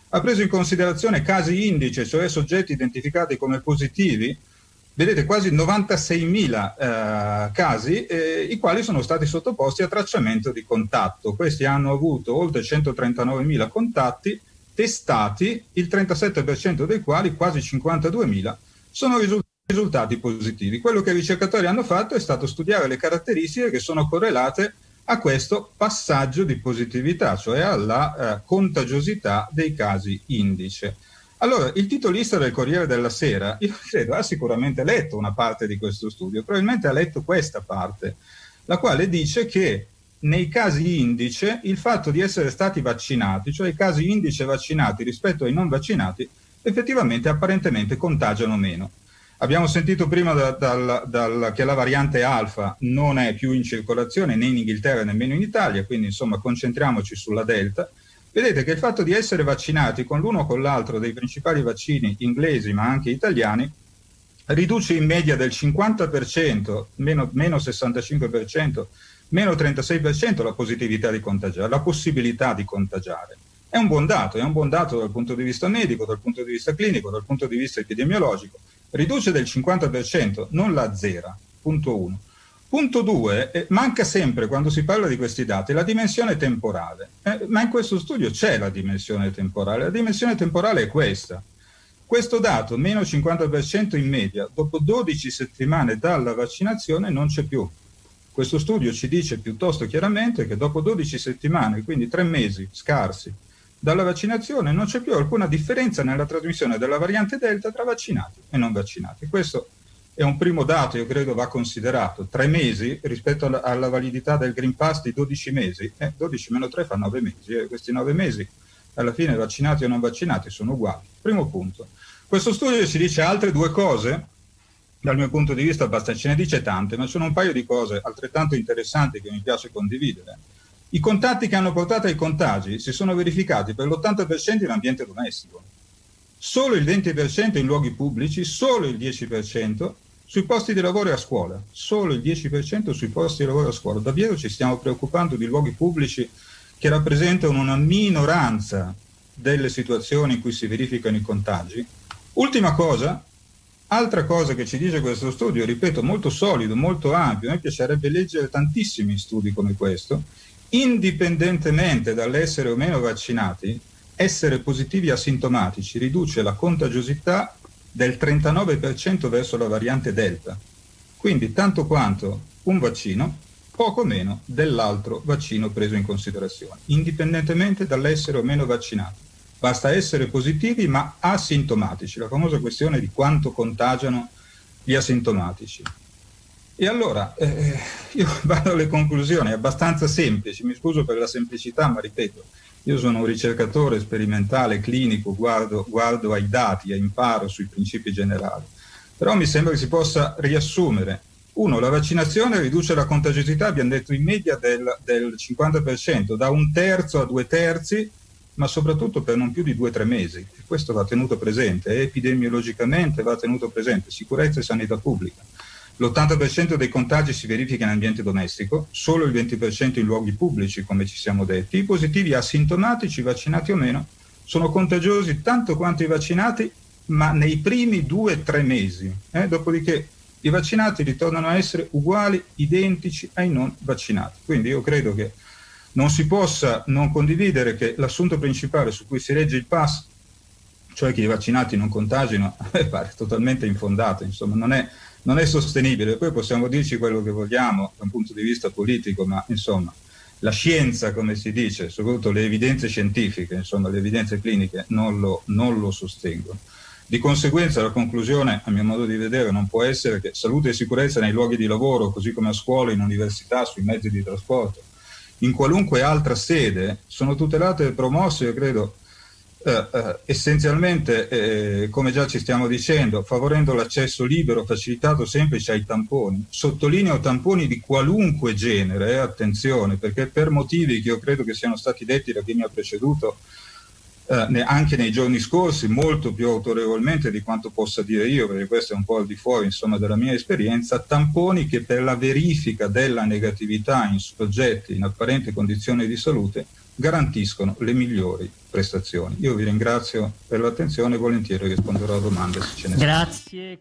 ha preso in considerazione casi indice, cioè soggetti identificati come positivi, vedete quasi novantaseimila eh, casi, eh, i quali sono stati sottoposti a tracciamento di contatto. Questi hanno avuto oltre centotrentanovemila contatti testati, il trentasette per cento dei quali, quasi cinquantaduemila, sono risultati risultati positivi. Quello che i ricercatori hanno fatto è stato studiare le caratteristiche che sono correlate a questo passaggio di positività, cioè alla eh, contagiosità dei casi indice. Allora, il titolista del Corriere della Sera, io credo, ha sicuramente letto una parte di questo studio, probabilmente ha letto questa parte, la quale dice che nei casi indice il fatto di essere stati vaccinati, cioè i casi indice vaccinati rispetto ai non vaccinati, effettivamente apparentemente contagiano meno. Abbiamo sentito prima da, dal, dal, che la variante alfa non è più in circolazione né in Inghilterra nemmeno in Italia, quindi insomma concentriamoci sulla delta. Vedete che il fatto di essere vaccinati con l'uno o con l'altro dei principali vaccini inglesi ma anche italiani riduce in media del cinquanta per cento, meno, meno sessantacinque per cento, meno trentasei per cento la positività di contagiare, la possibilità di contagiare. È un buon dato, è un buon dato dal punto di vista medico, dal punto di vista clinico, dal punto di vista epidemiologico. Riduce del cinquanta per cento, non la azzera, punto uno. Punto due, eh, manca sempre quando si parla di questi dati la dimensione temporale, eh, ma in questo studio c'è la dimensione temporale, la dimensione temporale è questa. Questo dato, meno cinquanta per cento in media, dopo dodici settimane dalla vaccinazione non c'è più. Questo studio ci dice piuttosto chiaramente che dopo dodici settimane, quindi tre mesi scarsi, dalla vaccinazione non c'è più alcuna differenza nella trasmissione della variante Delta tra vaccinati e non vaccinati. Questo è un primo dato, io credo va considerato. Tre mesi rispetto alla, alla validità del Green Pass di dodici mesi, eh, dodici meno tre fa nove mesi, e eh, questi nove mesi alla fine vaccinati o non vaccinati sono uguali. Primo punto. Questo studio ci dice altre due cose, dal mio punto di vista abbastanza, ce ne dice tante, ma sono un paio di cose altrettanto interessanti che mi piace condividere. I contatti che hanno portato ai contagi si sono verificati per l'ottanta per cento in ambiente domestico, solo il venti per cento in luoghi pubblici, solo il dieci per cento sui posti di lavoro e a scuola, solo il dieci per cento sui posti di lavoro e a scuola. Davvero ci stiamo preoccupando di luoghi pubblici che rappresentano una minoranza delle situazioni in cui si verificano i contagi? Ultima cosa, altra cosa che ci dice questo studio, ripeto, molto solido, molto ampio, a me piacerebbe leggere tantissimi studi come questo. Indipendentemente dall'essere o meno vaccinati, essere positivi asintomatici riduce la contagiosità del trentanove per cento verso la variante Delta. Quindi tanto quanto un vaccino, poco meno dell'altro vaccino preso in considerazione, indipendentemente dall'essere o meno vaccinati. Basta essere positivi ma asintomatici, la famosa questione di quanto contagiano gli asintomatici. E allora, eh, io vado alle conclusioni abbastanza semplici, mi scuso per la semplicità, ma ripeto, io sono un ricercatore sperimentale, clinico, guardo, guardo ai dati e imparo sui principi generali. Però mi sembra che si possa riassumere. Uno, la vaccinazione riduce la contagiosità, abbiamo detto in media del, del cinquanta per cento, da un terzo a due terzi, ma soprattutto per non più di due o tre mesi. E questo va tenuto presente, epidemiologicamente va tenuto presente, sicurezza e sanità pubblica. L'ottanta per cento dei contagi si verifica in ambiente domestico, solo il venti per cento in luoghi pubblici, come ci siamo detti. I positivi asintomatici, vaccinati o meno, sono contagiosi tanto quanto i vaccinati, ma nei primi due o tre mesi. Eh? Dopodiché i vaccinati ritornano a essere uguali, identici ai non vaccinati. Quindi io credo che non si possa non condividere che l'assunto principale su cui si regge il pass, cioè che i vaccinati non contagino, a me pare totalmente infondato, insomma non è... non è sostenibile. Poi possiamo dirci quello che vogliamo da un punto di vista politico, ma insomma la scienza, come si dice, soprattutto le evidenze scientifiche, insomma le evidenze cliniche non lo, non lo sostengono. Di conseguenza la conclusione, a mio modo di vedere, non può essere che salute e sicurezza nei luoghi di lavoro, così come a scuola, in università, sui mezzi di trasporto, in qualunque altra sede, sono tutelate e promosse, io credo, Uh, uh, essenzialmente, eh, come già ci stiamo dicendo, favorendo l'accesso libero, facilitato, semplice ai tamponi. Sottolineo tamponi di qualunque genere, eh, attenzione, perché per motivi che io credo che siano stati detti da chi mi ha preceduto uh, ne, anche nei giorni scorsi, molto più autorevolmente di quanto possa dire io, perché questo è un po' al di fuori, insomma, della mia esperienza, tamponi che per la verifica della negatività in soggetti in apparente condizione di salute garantiscono le migliori prestazioni. Io vi ringrazio per l'attenzione e volentieri risponderò a domande se ce ne sono. Grazie.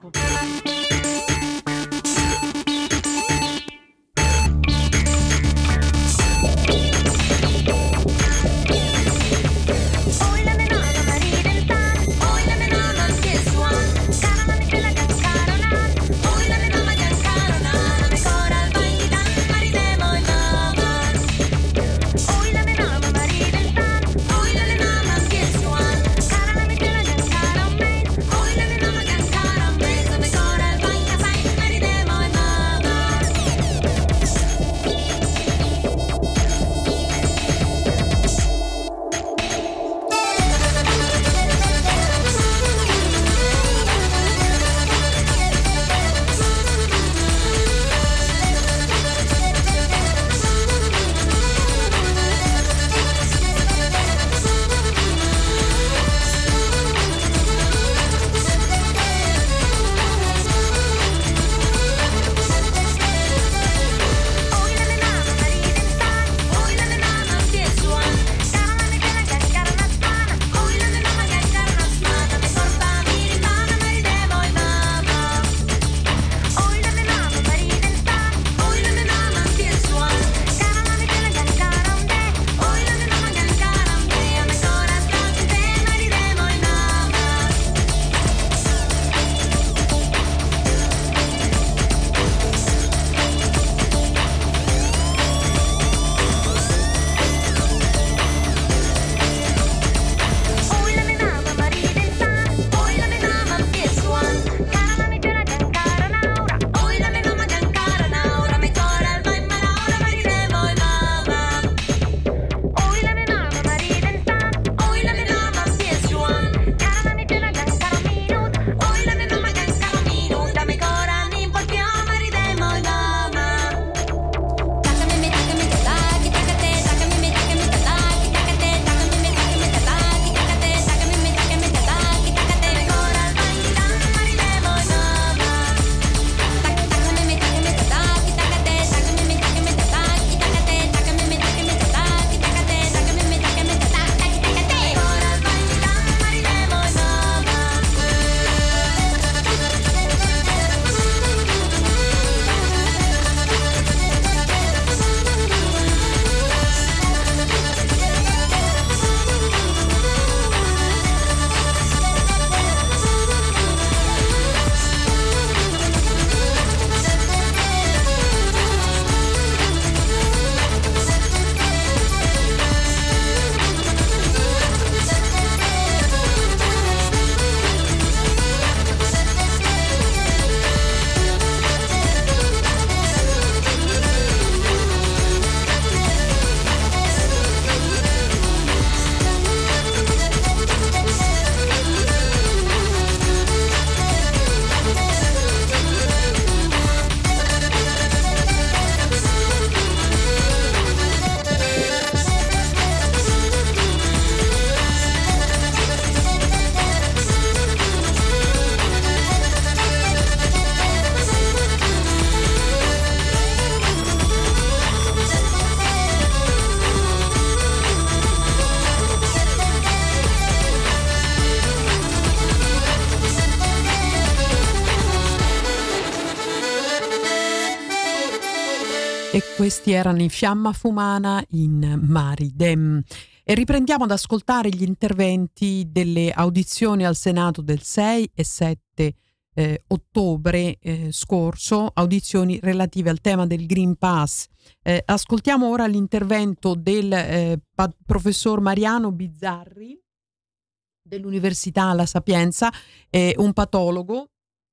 E questi erano in Fiamma Fumana in Maridem. E riprendiamo ad ascoltare gli interventi delle audizioni al Senato del sei e sette eh, ottobre eh, scorso, audizioni relative al tema del Green Pass. Eh, ascoltiamo ora l'intervento del eh, pa- professor Mariano Bizzarri dell'Università La Sapienza, eh, un patologo.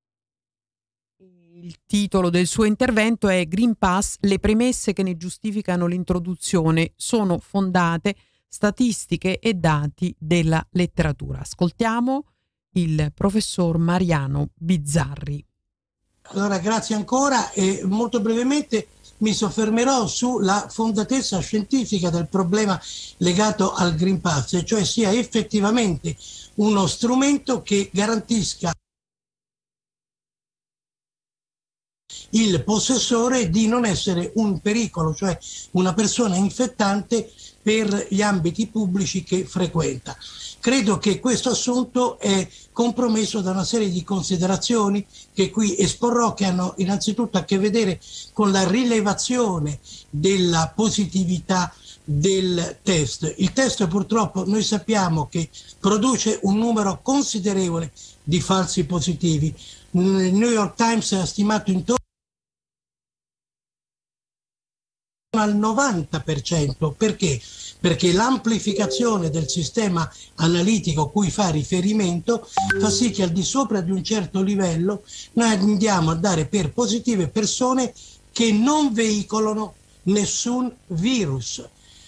Il titolo del suo intervento è Green Pass, le premesse che ne giustificano l'introduzione sono fondate, statistiche e dati della letteratura. Ascoltiamo il professor Mariano Bizzarri. Allora, grazie ancora e molto brevemente mi soffermerò sulla fondatezza scientifica del problema legato al Green Pass, cioè sia effettivamente uno strumento che garantisca il possessore di non essere un pericolo, cioè una persona infettante per gli ambiti pubblici che frequenta. Credo che questo assunto è compromesso da una serie di considerazioni che qui esporrò, che hanno innanzitutto a che vedere con la rilevazione della positività del test. Il test purtroppo noi sappiamo che produce un numero considerevole di falsi positivi. Il New York Times ha stimato intorno al novanta per cento. Perché? Perché l'amplificazione del sistema analitico a cui fa riferimento fa sì che al di sopra di un certo livello noi andiamo a dare per positive persone che non veicolano nessun virus.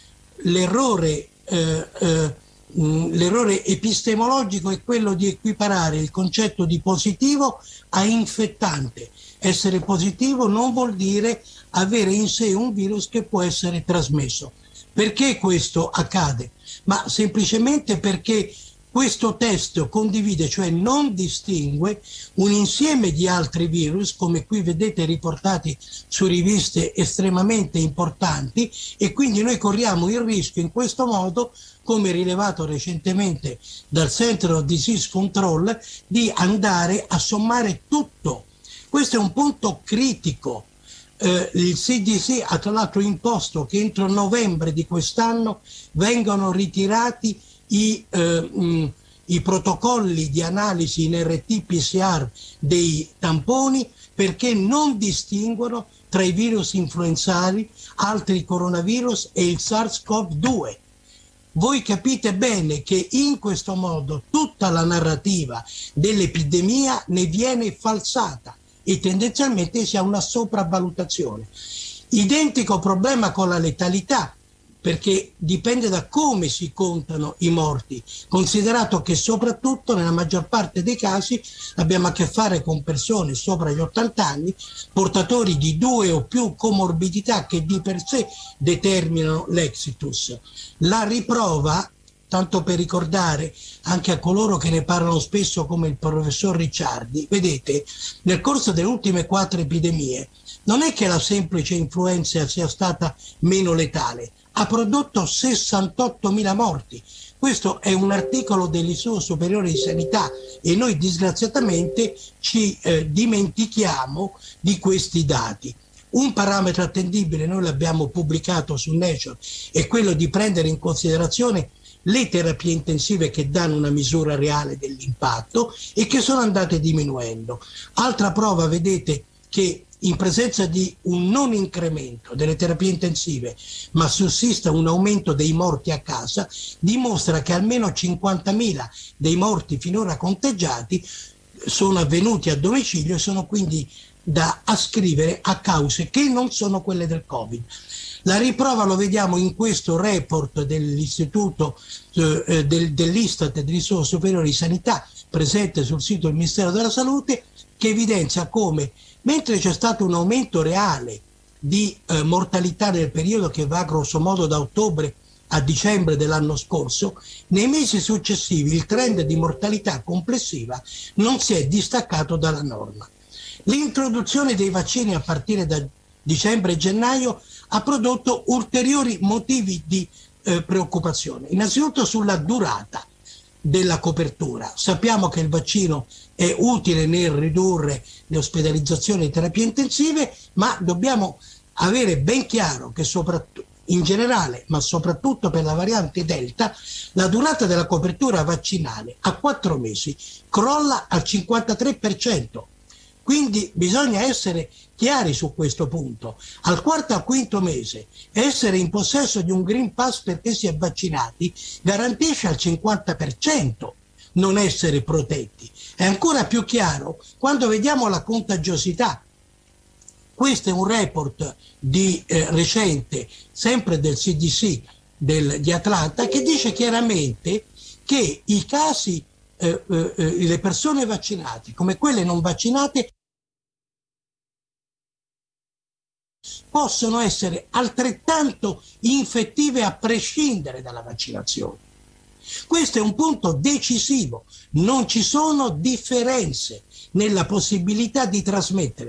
L'errore, eh, eh, l'errore epistemologico è quello di equiparare il concetto di positivo a infettante. Essere positivo non vuol dire avere in sé un virus che può essere trasmesso. Perché questo accade? Ma semplicemente perché questo test condivide, cioè non distingue, un insieme di altri virus, come qui vedete riportati su riviste estremamente importanti, e quindi noi corriamo il rischio in questo modo, come rilevato recentemente dal Center of Disease Control, di andare a sommare tutto. Questo è un punto critico. Eh, il C D C ha tra l'altro imposto che entro novembre di quest'anno vengano ritirati i, eh, mh, i protocolli di analisi in R T P C R dei tamponi, perché non distinguono tra i virus influenzali, altri coronavirus e il SARS-CoV due. Voi capite bene che in questo modo tutta la narrativa dell'epidemia ne viene falsata e tendenzialmente si ha una sopravvalutazione. Identico problema con la letalità, perché dipende da come si contano i morti, considerato che soprattutto nella maggior parte dei casi abbiamo a che fare con persone sopra gli ottanta anni, portatori di due o più comorbidità che di per sé determinano l'exitus. La riprova, tanto per ricordare anche a coloro che ne parlano spesso come il professor Ricciardi, vedete, nel corso delle ultime quattro epidemie non è che la semplice influenza sia stata meno letale, ha prodotto sessantottomila morti. Questo è un articolo dell'Istituto Superiore di Sanità e noi disgraziatamente ci eh, dimentichiamo di questi dati. Un parametro attendibile, noi l'abbiamo pubblicato su Nature, è quello di prendere in considerazione le terapie intensive che danno una misura reale dell'impatto e che sono andate diminuendo. Altra prova, vedete che in presenza di un non incremento delle terapie intensive, ma sussista un aumento dei morti a casa, dimostra che almeno cinquantamila dei morti finora conteggiati sono avvenuti a domicilio e sono quindi da ascrivere a cause che non sono quelle del Covid. La riprova lo vediamo in questo report dell'Istituto eh, del, dell'Istat dell'Istituto Superiore di Sanità, presente sul sito del Ministero della Salute, che evidenzia come, mentre c'è stato un aumento reale di eh, mortalità nel periodo che va grosso modo da ottobre a dicembre dell'anno scorso, nei mesi successivi il trend di mortalità complessiva non si è distaccato dalla norma. L'introduzione dei vaccini a partire da dicembre e gennaio ha prodotto ulteriori motivi di eh, preoccupazione. Innanzitutto sulla durata della copertura. Sappiamo che il vaccino è utile nel ridurre le ospedalizzazioni e terapie intensive, ma dobbiamo avere ben chiaro che soprattutto in generale, ma soprattutto per la variante Delta, la durata della copertura vaccinale a quattro mesi crolla al cinquantatré per cento. Quindi bisogna essere chiari su questo punto. Al quarto o quinto mese essere in possesso di un Green Pass perché si è vaccinati garantisce al cinquanta per cento non essere protetti. È ancora più chiaro quando vediamo la contagiosità. Questo è un report di, eh, recente, sempre del C D C del, di Atlanta, che dice chiaramente che i casi, eh, eh, le persone vaccinate come quelle non vaccinate possono essere altrettanto infettive a prescindere dalla vaccinazione. Questo è un punto decisivo, non ci sono differenze nella possibilità di trasmettere.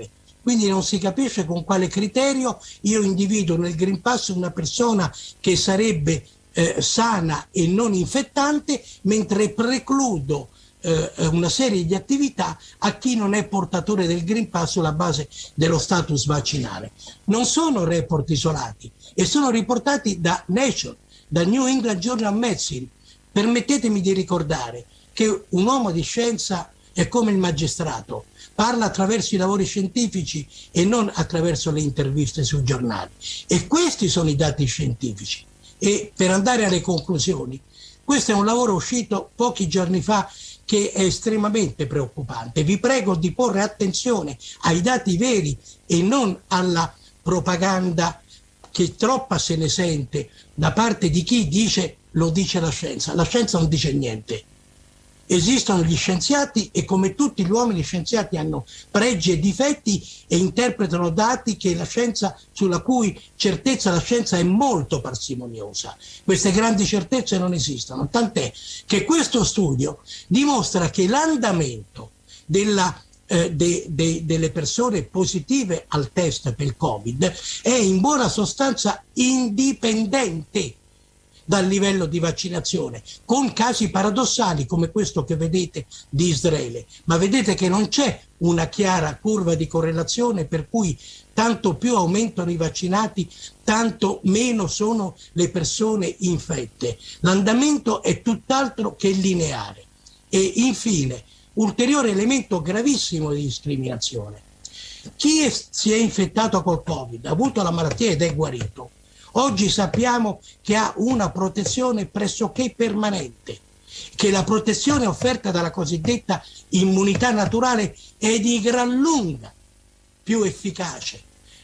quindi non si capisce con quale criterio io individuo nel Green Pass una persona che sarebbe eh, sana e non infettante, mentre precludo eh, una serie di attività a chi non è portatore del Green Pass sulla base dello status vaccinale. Non sono report isolati e sono riportati da Nature, da New England Journal of Medicine. Permettetemi di ricordare che un uomo di scienza è come il magistrato, parla attraverso i lavori scientifici e non attraverso le interviste sui giornali. E questi sono i dati scientifici. E per andare alle conclusioni, questo è un lavoro uscito pochi giorni fa che è estremamente preoccupante. Vi prego di porre attenzione ai dati veri e non alla propaganda che troppa se ne sente da parte di chi dice lo dice la scienza. La scienza non dice niente. Esistono gli scienziati e come tutti gli uomini scienziati hanno pregi e difetti e interpretano dati che la scienza, sulla cui certezza la scienza è molto parsimoniosa. Queste grandi certezze non esistono, tant'è che questo studio dimostra che l'andamento della Eh, de, de, delle persone positive al test per il Covid è in buona sostanza indipendente dal livello di vaccinazione, con casi paradossali come questo che vedete di Israele. Ma vedete che non c'è una chiara curva di correlazione per cui tanto più aumentano i vaccinati, tanto meno sono le persone infette. L'andamento è tutt'altro che lineare. E infine, ulteriore elemento gravissimo di discriminazione. Chi è, si è infettato col Covid, ha avuto la malattia ed è guarito, oggi sappiamo che ha una protezione pressoché permanente, che la protezione offerta dalla cosiddetta immunità naturale è di gran lunga più efficace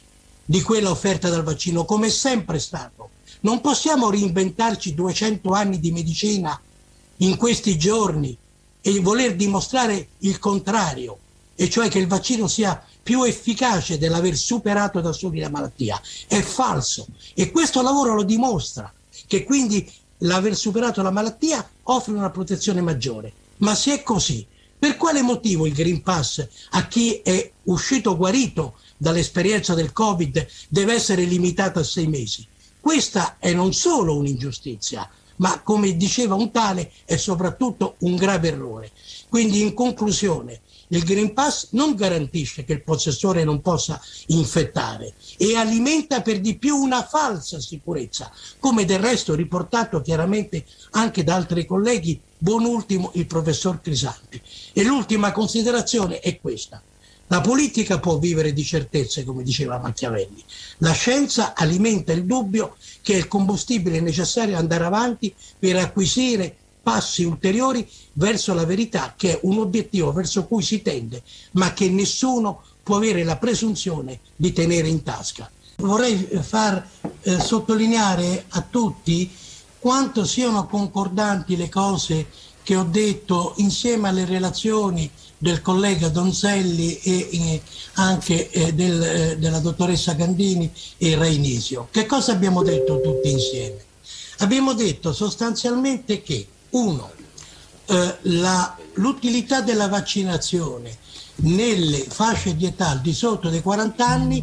di quella offerta dal vaccino, come è sempre stato. Non possiamo reinventarci duecento anni di medicina in questi giorni e voler dimostrare il contrario, e cioè che il vaccino sia più efficace dell'aver superato da soli la malattia. È falso, e questo lavoro lo dimostra, che quindi l'aver superato la malattia offre una protezione maggiore. Ma se è così, per quale motivo il Green Pass a chi è uscito guarito dall'esperienza del Covid deve essere limitato a sei mesi? Questa è non solo un'ingiustizia, ma come diceva un tale è soprattutto un grave errore. Quindi in conclusione, il Green Pass non garantisce che il possessore non possa infettare e alimenta per di più una falsa sicurezza, come del resto riportato chiaramente anche da altri colleghi, buon ultimo il professor Crisanti. E l'ultima considerazione è questa: la politica può vivere di certezze, come diceva Machiavelli. La scienza alimenta il dubbio che è il combustibile necessario ad andare avanti per acquisire passi ulteriori verso la verità, che è un obiettivo verso cui si tende, ma che nessuno può avere la presunzione di tenere in tasca. Vorrei far eh, sottolineare a tutti quanto siano concordanti le cose che ho detto insieme alle relazioni del collega Donzelli e eh, anche eh, del, eh, della dottoressa Gandini e Reinisio. Che cosa abbiamo detto tutti insieme? Abbiamo detto sostanzialmente che, uno, eh, la, l'utilità della vaccinazione nelle fasce di età al di sotto dei quaranta anni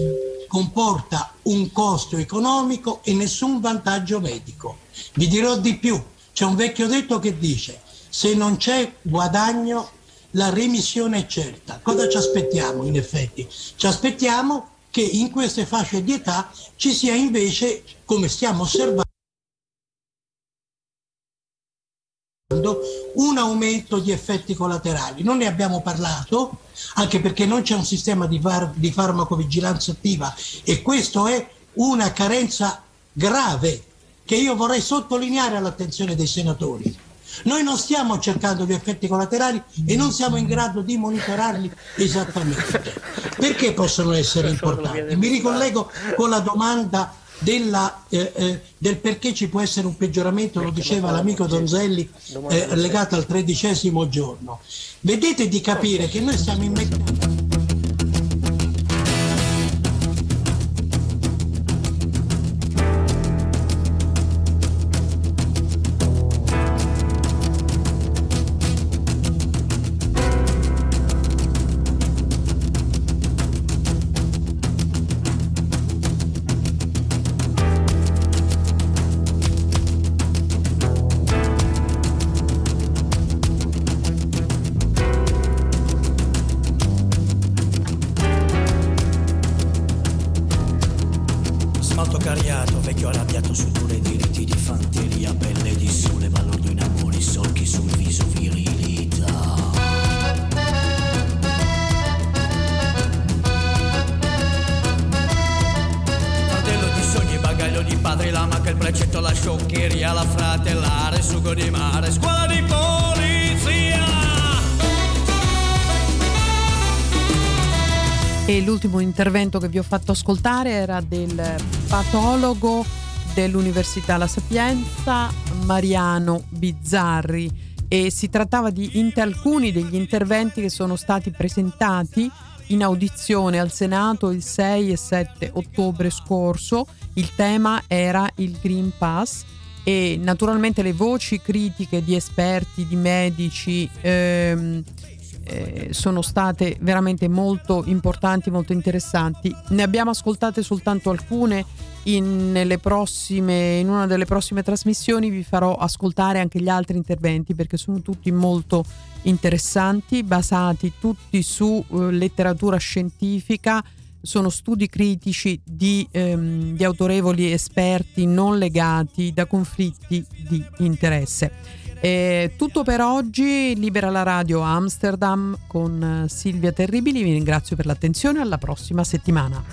comporta un costo economico e nessun vantaggio medico. Vi dirò di più, c'è un vecchio detto che dice: se non c'è guadagno la remissione è certa. Cosa ci aspettiamo in effetti? Ci aspettiamo che in queste fasce di età ci sia invece, come stiamo osservando, un aumento di effetti collaterali. Non ne abbiamo parlato, anche perché non c'è un sistema di, far- di farmacovigilanza attiva, e questo è una carenza grave che io vorrei sottolineare all'attenzione dei senatori. Noi non stiamo cercando gli effetti collaterali e non siamo in grado di monitorarli esattamente. Perché possono essere importanti? Mi ricollego con la domanda della, eh, eh, del perché ci può essere un peggioramento, lo diceva l'amico Donzelli, eh, legato al tredicesimo giorno. Vedete di capire che noi stiamo immettendo... morto cariato, vecchio arrabbiato su dure diritti di fanteria, pelle di sole, balordo in amori, solchi sul viso, virilità. Fardello di sogni, bagaglio di padre, lama che il precetto, la scioccheria, la fratellare, sugo di mare, scuola di polizia. E l'ultimo intervento che vi ho fatto ascoltare era del patologo dell'Università La Sapienza, Mariano Bizzarri, e si trattava di inter- alcuni degli interventi che sono stati presentati in audizione al Senato il sei e sette ottobre scorso. Il tema era il Green Pass e naturalmente le voci critiche di esperti, di medici, ehm, Eh, sono state veramente molto importanti, molto interessanti. Ne abbiamo ascoltate soltanto alcune. In, nelle prossime, in una delle prossime trasmissioni vi farò ascoltare anche gli altri interventi, perché sono tutti molto interessanti, basati tutti su eh, letteratura scientifica. Sono studi critici di, ehm, di autorevoli esperti non legati da conflitti di interesse. È tutto per oggi. Libera la radio Amsterdam con Silvia Terribili. Vi ringrazio per l'attenzione. Alla prossima settimana.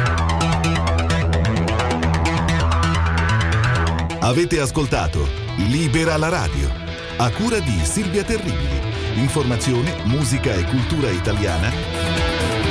Avete ascoltato Libera la radio, a cura di Silvia Terribili. Informazione, musica e cultura italiana